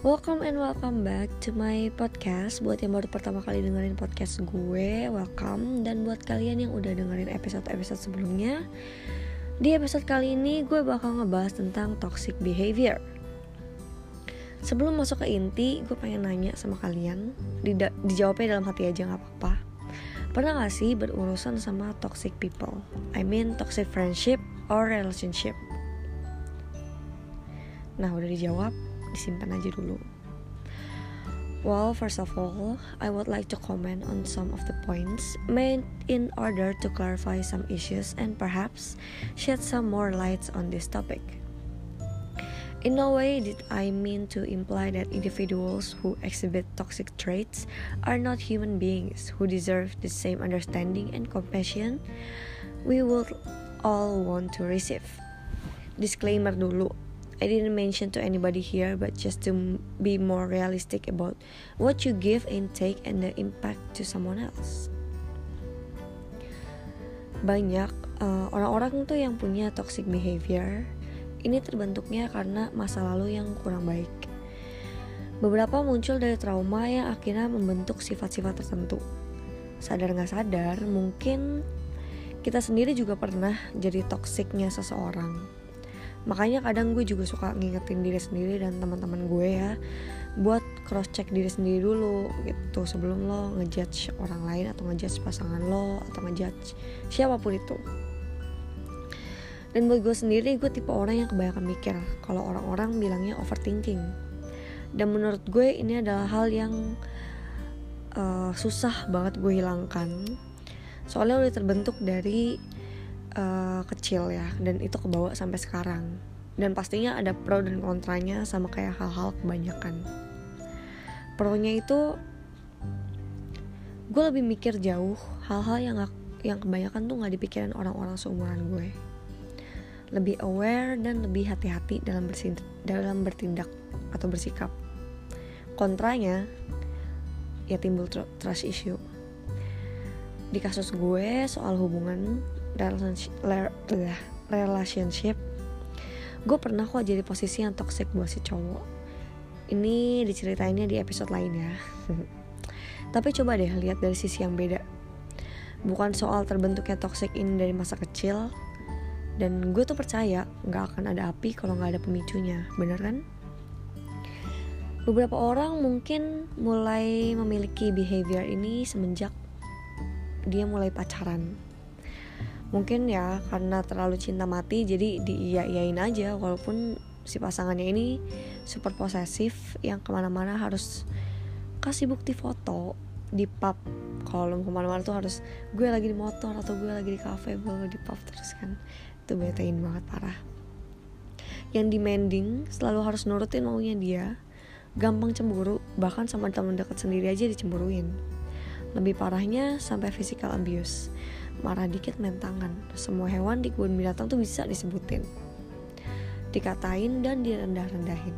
Welcome and welcome back to my podcast. Buat yang baru pertama kali dengerin podcast gue, welcome. Dan buat kalian yang udah dengerin episode-episode sebelumnya, di episode kali ini gue bakal ngebahas tentang toxic behavior. Sebelum masuk ke inti, gue pengen nanya sama kalian, dijawabnya dalam hati aja gak apa-apa. Pernah gak sih berurusan sama toxic people? I mean toxic friendship or relationship? Nah, udah dijawab, disimpan aja dulu. Well, first of all, I would like to comment on some of the points made in order to clarify some issues and perhaps shed some more lights on this topic. In no way did I mean to imply that individuals who exhibit toxic traits are not human beings who deserve the same understanding and compassion we would all want to receive. Disclaimer dulu, I didn't mention to anybody here, but just to be more realistic about what you give and take and the impact to someone else. Banyak orang-orang tuh yang punya toxic behavior, ini terbentuknya karena masa lalu yang kurang baik. Beberapa muncul dari trauma yang akhirnya membentuk sifat-sifat tertentu. Sadar gak sadar, mungkin kita sendiri juga pernah jadi toksiknya seseorang. Makanya kadang gue juga suka ngingetin diri sendiri dan teman-teman gue ya, buat cross check diri sendiri dulu gitu sebelum lo ngejudge orang lain atau ngejudge pasangan lo atau ngejudge siapapun itu. Dan buat gue sendiri, gue tipe orang yang kebanyakan mikir kalau orang-orang bilangnya overthinking. Dan menurut gue ini adalah hal yang susah banget gue hilangkan. Soalnya udah terbentuk dari kecil ya, dan itu kebawa sampai sekarang. Dan pastinya ada pro dan kontranya, sama kayak hal-hal kebanyakan. Pro-nya itu gue lebih mikir jauh hal-hal yang kebanyakan tuh gak dipikirin orang-orang seumuran gue. Lebih aware dan lebih hati-hati dalam bertindak atau bersikap. Kontranya ya timbul trust issue. Di kasus gue soal hubungan relationship, gue pernah kok jadi posisi yang toxic buat si cowok. Ini diceritainnya di episode lain ya. Tapi coba deh lihat dari sisi yang beda. Bukan soal terbentuknya toxic ini dari masa kecil. Dan gue tuh percaya gak akan ada api kalau gak ada pemicunya, bener kan? Beberapa orang mungkin mulai memiliki behavior ini semenjak dia mulai pacaran. Mungkin ya karena terlalu cinta mati, jadi diiyain aja walaupun si pasangannya ini super posesif yang kemana-mana harus kasih bukti foto di pub. Kalau kemana-mana tuh harus gue lagi di motor atau gue lagi di cafe, gue di pub terus kan. Itu betain banget parah. Yang demanding, selalu harus nurutin maunya dia, gampang cemburu, bahkan sama teman dekat sendiri aja dicemburuin. Lebih parahnya sampai physical abuse. Marah dikit main tangan. Semua hewan di kebun binatang tuh bisa disebutin, dikatain dan direndah-rendahin.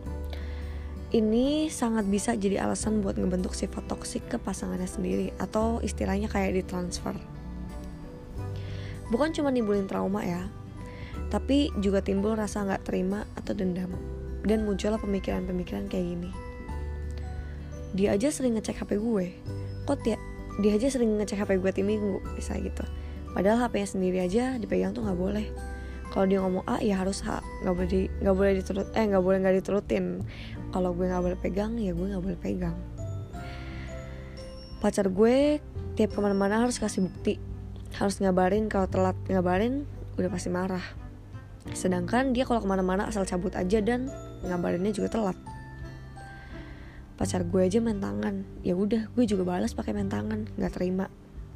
Ini sangat bisa jadi alasan buat ngebentuk sifat toksik ke pasangannya sendiri, atau istilahnya kayak ditransfer. Bukan cuma nimbulin trauma ya, tapi juga timbul rasa gak terima atau dendam. Dan muncullah pemikiran-pemikiran kayak gini. Dia aja sering ngecek HP gue, kok dia aja sering ngecek HP gue tiap minggu, bisa gitu. Padahal HP-nya sendiri aja dipegang tuh nggak boleh. Kalau dia ngomong A ya harus A, nggak boleh nggak diturutin. Kalau gue nggak boleh pegang ya gue nggak boleh pegang. Pacar gue tiap kemana-mana harus kasih bukti, harus ngabarin. Kalau telat ngabarin udah pasti marah. Sedangkan dia kalau kemana-mana asal cabut aja dan ngabarinnya juga telat. Pacar gue aja main tangan, ya udah gue juga balas pakai main tangan, nggak terima.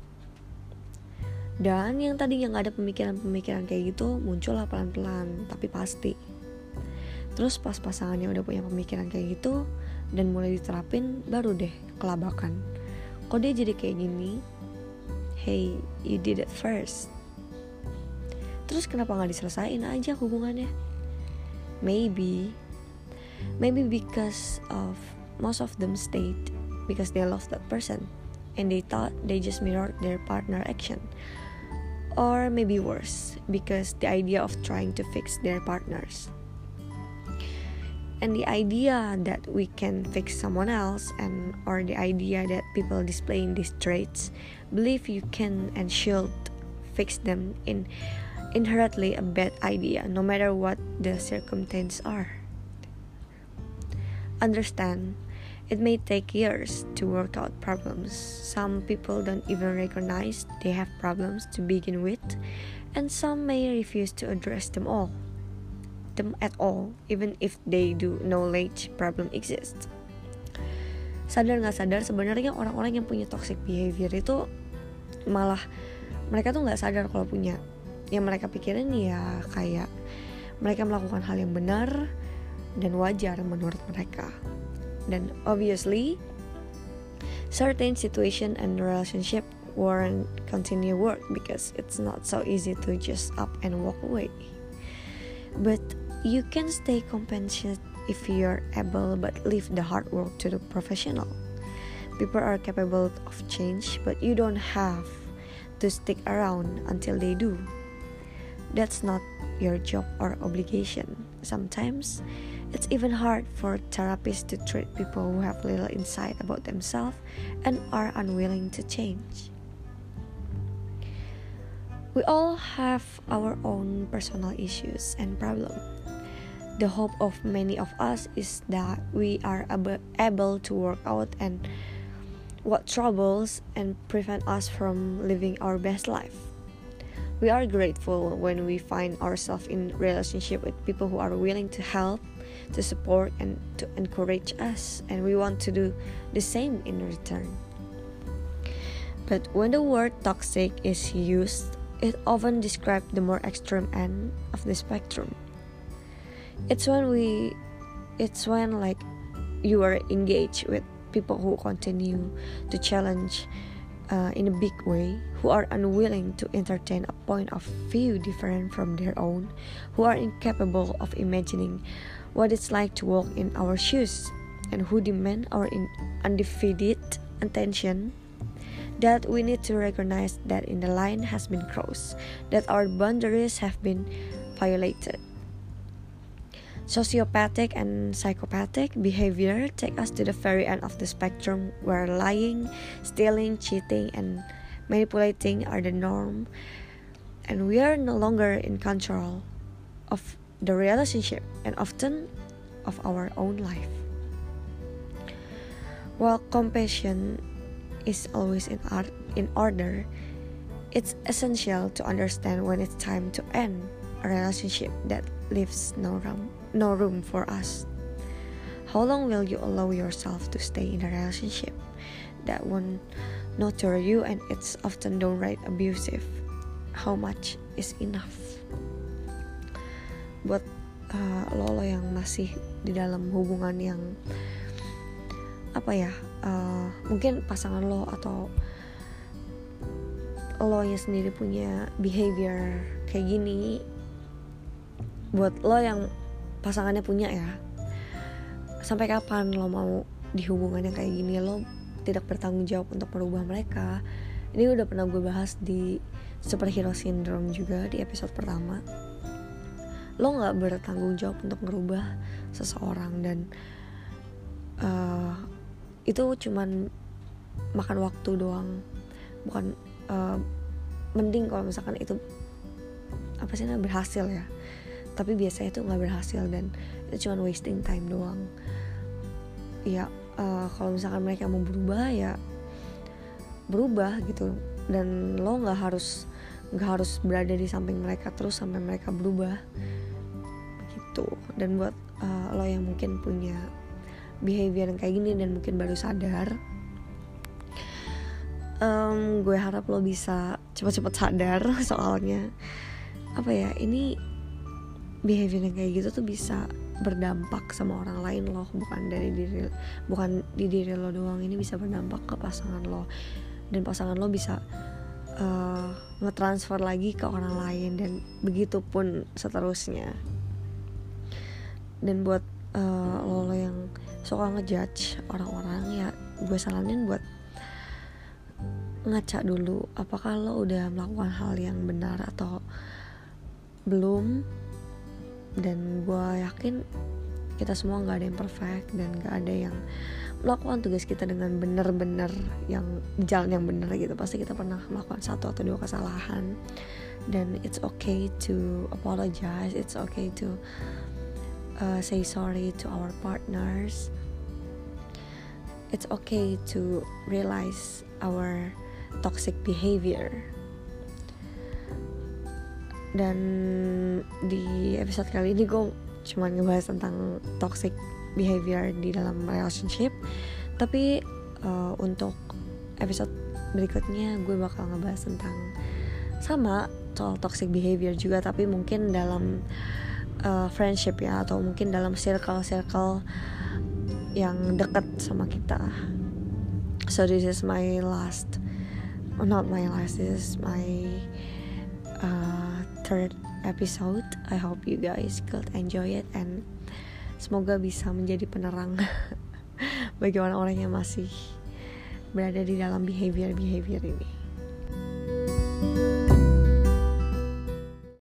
Dan yang tadinya nggak ada pemikiran kayak gitu muncul lah pelan-pelan, tapi pasti. Terus pas pasangannya udah punya pemikiran kayak gitu dan mulai diterapin, baru deh kelabakan. Kok dia jadi kayak gini? Hey, you did it first. Terus kenapa nggak diselesain aja hubungannya? Maybe because of most of them stayed because they love that person and they thought they just mirrored their partner action. Or maybe worse, because the idea of trying to fix their partners. And the idea that we can fix someone else, and or the idea that people displaying these traits believe you can and should fix them in inherently a bad idea, no matter what the circumstances are. Understand, it may take years to work out problems. Some people don't even recognize they have problems to begin with, and some may refuse to address them at all, even if they do knowledge problem exists. Sadar nggak sadar, sebenarnya orang-orang yang punya toxic behavior itu malah mereka tuh nggak sadar kalau punya. Yang mereka pikirin ya kayak mereka melakukan hal yang benar dan wajar menurut mereka. Dan obviously, certain situation and relationship won't continue work because it's not so easy to just up and walk away. But you can stay compassionate if you're able, but leave the hard work to the professional. People are capable of change, but you don't have to stick around until they do. That's not your job or obligation. Sometimes it's even hard for therapists to treat people who have little insight about themselves and are unwilling to change. We all have our own personal issues and problems. The hope of many of us is that we are able to work out and what troubles and prevent us from living our best life. We are grateful when we find ourselves in relationship with people who are willing to help, to support, and to encourage us, and we want to do the same in return. But when the word toxic is used, it often describes the more extreme end of the spectrum. It's when like you are engaged with people who continue to challenge in a big way, who are unwilling to entertain a point of view different from their own, who are incapable of imagining what it's like to walk in our shoes, and who demand our undivided attention. That we need to recognize that in the line has been crossed, that our boundaries have been violated. Sociopathic and psychopathic behavior take us to the very end of the spectrum, where lying, stealing, cheating, and manipulating are the norm, and we are no longer in control of the relationship and often of our own life. While compassion is always in order, it's essential to understand when it's time to end a relationship that leaves no room for us. How long will you allow yourself to stay in a relationship that won't nurture you and it's often downright abusive? How much is enough? Buat lo yang masih di dalam hubungan yang mungkin pasangan lo atau lo nya sendiri punya behavior kayak gini, buat lo yang pasangannya punya ya, sampai kapan lo mau di hubungan yang kayak gini? Lo tidak bertanggung jawab untuk merubah mereka. Ini udah pernah gue bahas di Superhero Syndrome juga di episode pertama. Lo gak bertanggung jawab untuk merubah seseorang, dan itu cuman makan waktu doang. Bukan mending kalau misalkan itu berhasil ya, tapi biasanya itu nggak berhasil dan itu cuma wasting time doang. Ya kalau misalkan mereka mau berubah ya berubah gitu, dan lo nggak harus berada di samping mereka terus sampai mereka berubah gitu. Dan buat lo yang mungkin punya behavior yang kayak gini dan mungkin baru sadar, gue harap lo bisa cepat-cepat sadar. Soalnya ini behavior yang kayak gitu tuh bisa berdampak sama orang lain lo, bukan di diri lo doang. Ini bisa berdampak ke pasangan lo, dan pasangan lo bisa ngetransfer lagi ke orang lain, dan begitu pun seterusnya. Dan buat lo yang suka ngejudge orang-orang, ya gue saranin buat ngaca dulu apakah lo udah melakukan hal yang benar atau belum. Dan gue yakin kita semua nggak ada yang perfect dan nggak ada yang melakukan tugas kita dengan benar-benar yang di jalan yang benar gitu. Pasti kita pernah melakukan 1 atau 2 kesalahan, dan it's okay to apologize, it's okay to say sorry to our partners, it's okay to realize our toxic behavior. Dan di episode kali ini gue cuma ngebahas tentang toxic behavior di dalam relationship, tapi untuk episode berikutnya gue bakal ngebahas tentang sama soal toxic behavior juga, tapi mungkin dalam friendship ya, atau mungkin dalam circle yang dekat sama kita. So this is my last, not my last, this is my third episode. I hope you guys could enjoy it, and semoga bisa menjadi penerang bagi orang-orang yang masih berada di dalam behavior ini.